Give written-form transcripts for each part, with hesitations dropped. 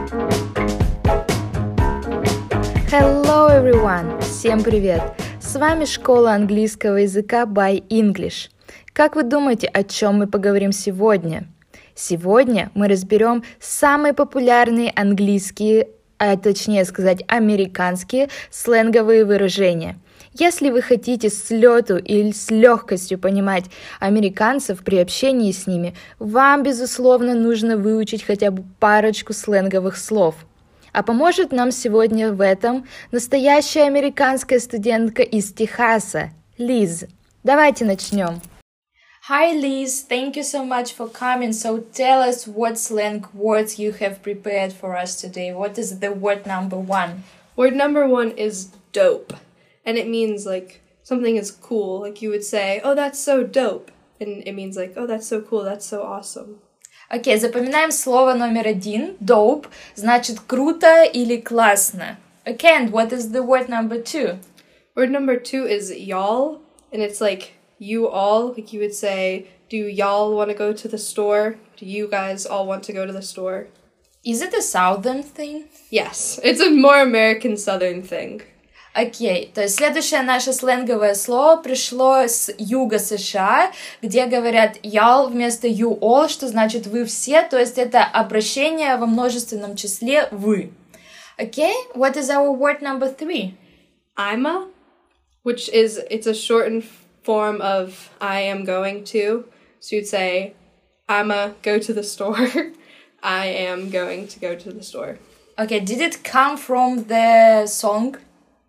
Hello everyone! Всем привет! С вами школа английского языка by English. Как вы думаете, о чем мы поговорим сегодня? Сегодня мы разберем самые популярные английские, точнее сказать, американские сленговые выражения. Если вы хотите с лету или с легкостью понимать американцев при общении с ними, вам, безусловно, нужно выучить хотя бы парочку сленговых слов. А поможет нам сегодня в этом настоящая американская студентка из Техаса, Лиз. Давайте начнем. Hi Liz, thank you so much for coming. So tell us what slang words you have prepared for us today. What is the word number one? Word number one is dope. And it means like something is cool. Like you would say, oh, that's so dope. And it means like, oh, that's so cool, that's so awesome. Окей, запоминаем слово номер один. Dope значит круто или классно. Okay, and what is the word number two? Word number two is y'all. And it's like you all. Like you would say, do y'all want to go to the store? Do you guys all want to go to the store? Is it a southern thing? Yes, it's a more American southern thing. Окей, то есть следующее наше сленговое слово пришло с юга США, где говорят y'all вместо you all, что значит вы все, то есть это обращение во множественном числе вы. Окей, what is our word number three? I'ma, which is, it's a shortened form of I am going to. So you'd say, I'ma go to the store. I am going to go to the store. Okay, did it come from the song?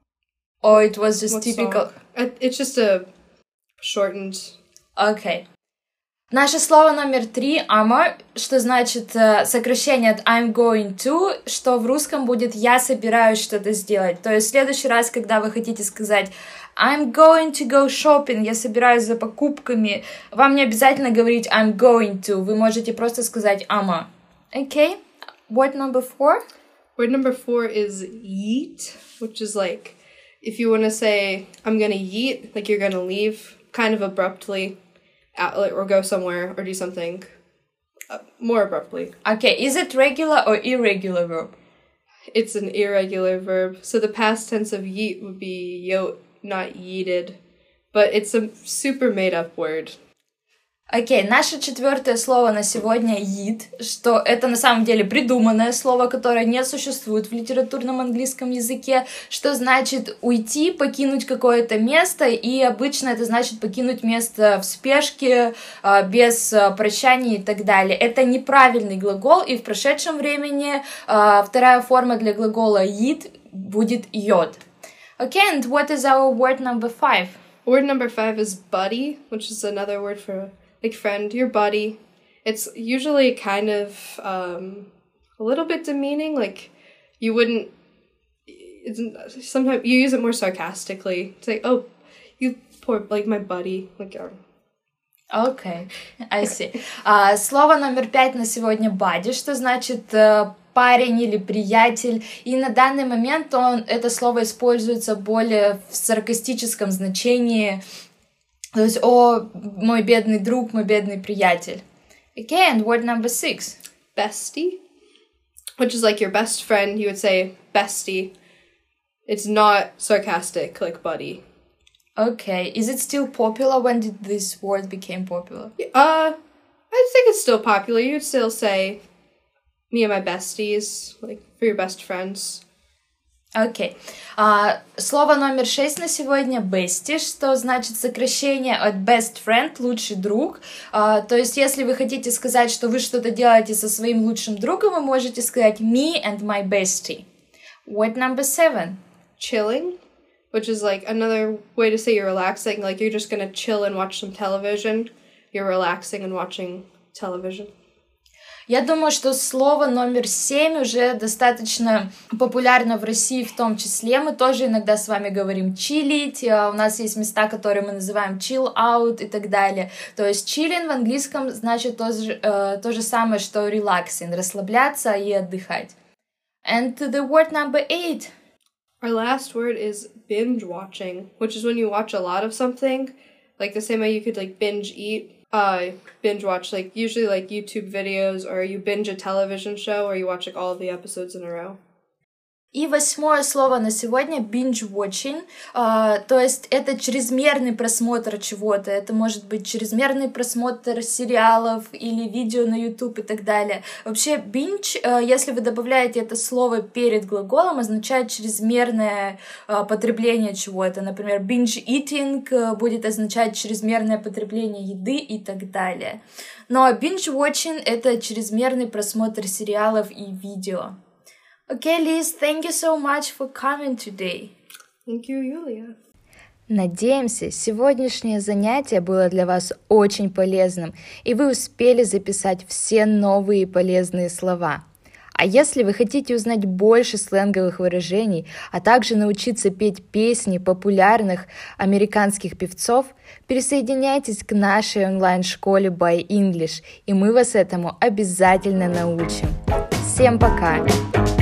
Or it was just What typical? Song? It's just a shortened... Okay. Наше слово номер три, I'ma, что значит сокращение от I'm going to, что в русском будет «я собираюсь что-то сделать». То есть в следующий раз, когда вы хотите сказать I'm going to go shopping, я собираюсь за покупками, вам не обязательно говорить I'm going to, вы можете просто сказать I'ma. Okay, word number four? Word number four is yeet, which is like, if you want to say, I'm gonna yeet, like you're gonna leave kind of abruptly, or go somewhere, or do something more abruptly. Okay, is it regular or irregular verb? It's an irregular verb. So the past tense of yeet would be yote, not yeeted. But it's a super made-up word. Окей, наше четвертое слово на сегодня yeet, что это на самом деле придуманное слово, которое не существует в литературном английском языке, что значит уйти, покинуть какое-то место, и обычно это значит покинуть место в спешке, без прощания и так далее. Это неправильный глагол, и в прошедшем времени вторая форма для глагола yeet будет yod. Okay, and what is our word number five? Word number five is buddy, which is another word for like friend, your buddy. It's usually kind of a little bit demeaning. Like you wouldn't. Sometimes you use it more sarcastically. It's like, oh, you poor, like my buddy. Like. Okay, I see. Слово номер пять на сегодня buddy, что значит парень или приятель. И на данный момент это слово используется более в саркастическом значении. То есть, о, мой бедный друг, мой бедный приятель. Okay, and word number six. Bestie, which is like your best friend. You would say bestie. It's not sarcastic like buddy. Okay, is it still popular? When did this word become popular? I think it's still popular. You'd still say me and my besties, like for your best friends. Окей. Слово номер 6 на сегодня bestie, что значит сокращение от best friend, лучший друг. То есть, если вы хотите сказать, что вы что-то делаете со своим лучшим другом, вы можете сказать me and my bestie. Word number 7. Chilling, which is like another way to say you're relaxing. Like you're just gonna chill and watch some television. You're relaxing and watching television. Я думаю, что слово номер 7 уже достаточно популярно в России в том числе. Мы тоже иногда с вами говорим чилить, у нас есть места, которые мы называем chill out и так далее. То есть chilling в английском значит то же самое, что relaxing, расслабляться и отдыхать. And the word number 8. Our last word is binge watching, which is when you watch a lot of something. Like the same way you could like binge eat. binge watch, like usually like YouTube videos, or you binge a television show, or you watch like all of the episodes in a row. И 8 слово на сегодня — binge-watching, то есть это чрезмерный просмотр чего-то, это может быть чрезмерный просмотр сериалов или видео на YouTube и так далее. Вообще binge, если вы добавляете это слово перед глаголом, означает чрезмерное потребление чего-то. Например, binge-eating будет означать чрезмерное потребление еды и так далее. Но binge-watching — это чрезмерный просмотр сериалов и видео. Okay, Liz, thank you so much for coming today. Thank you, Yulia. Надеемся, сегодняшнее занятие было для вас очень полезным, и вы успели записать все новые полезные слова. А если вы хотите узнать больше сленговых выражений, а также научиться петь песни популярных американских певцов, присоединяйтесь к нашей онлайн-школе By English, и мы вас этому обязательно научим. Всем пока!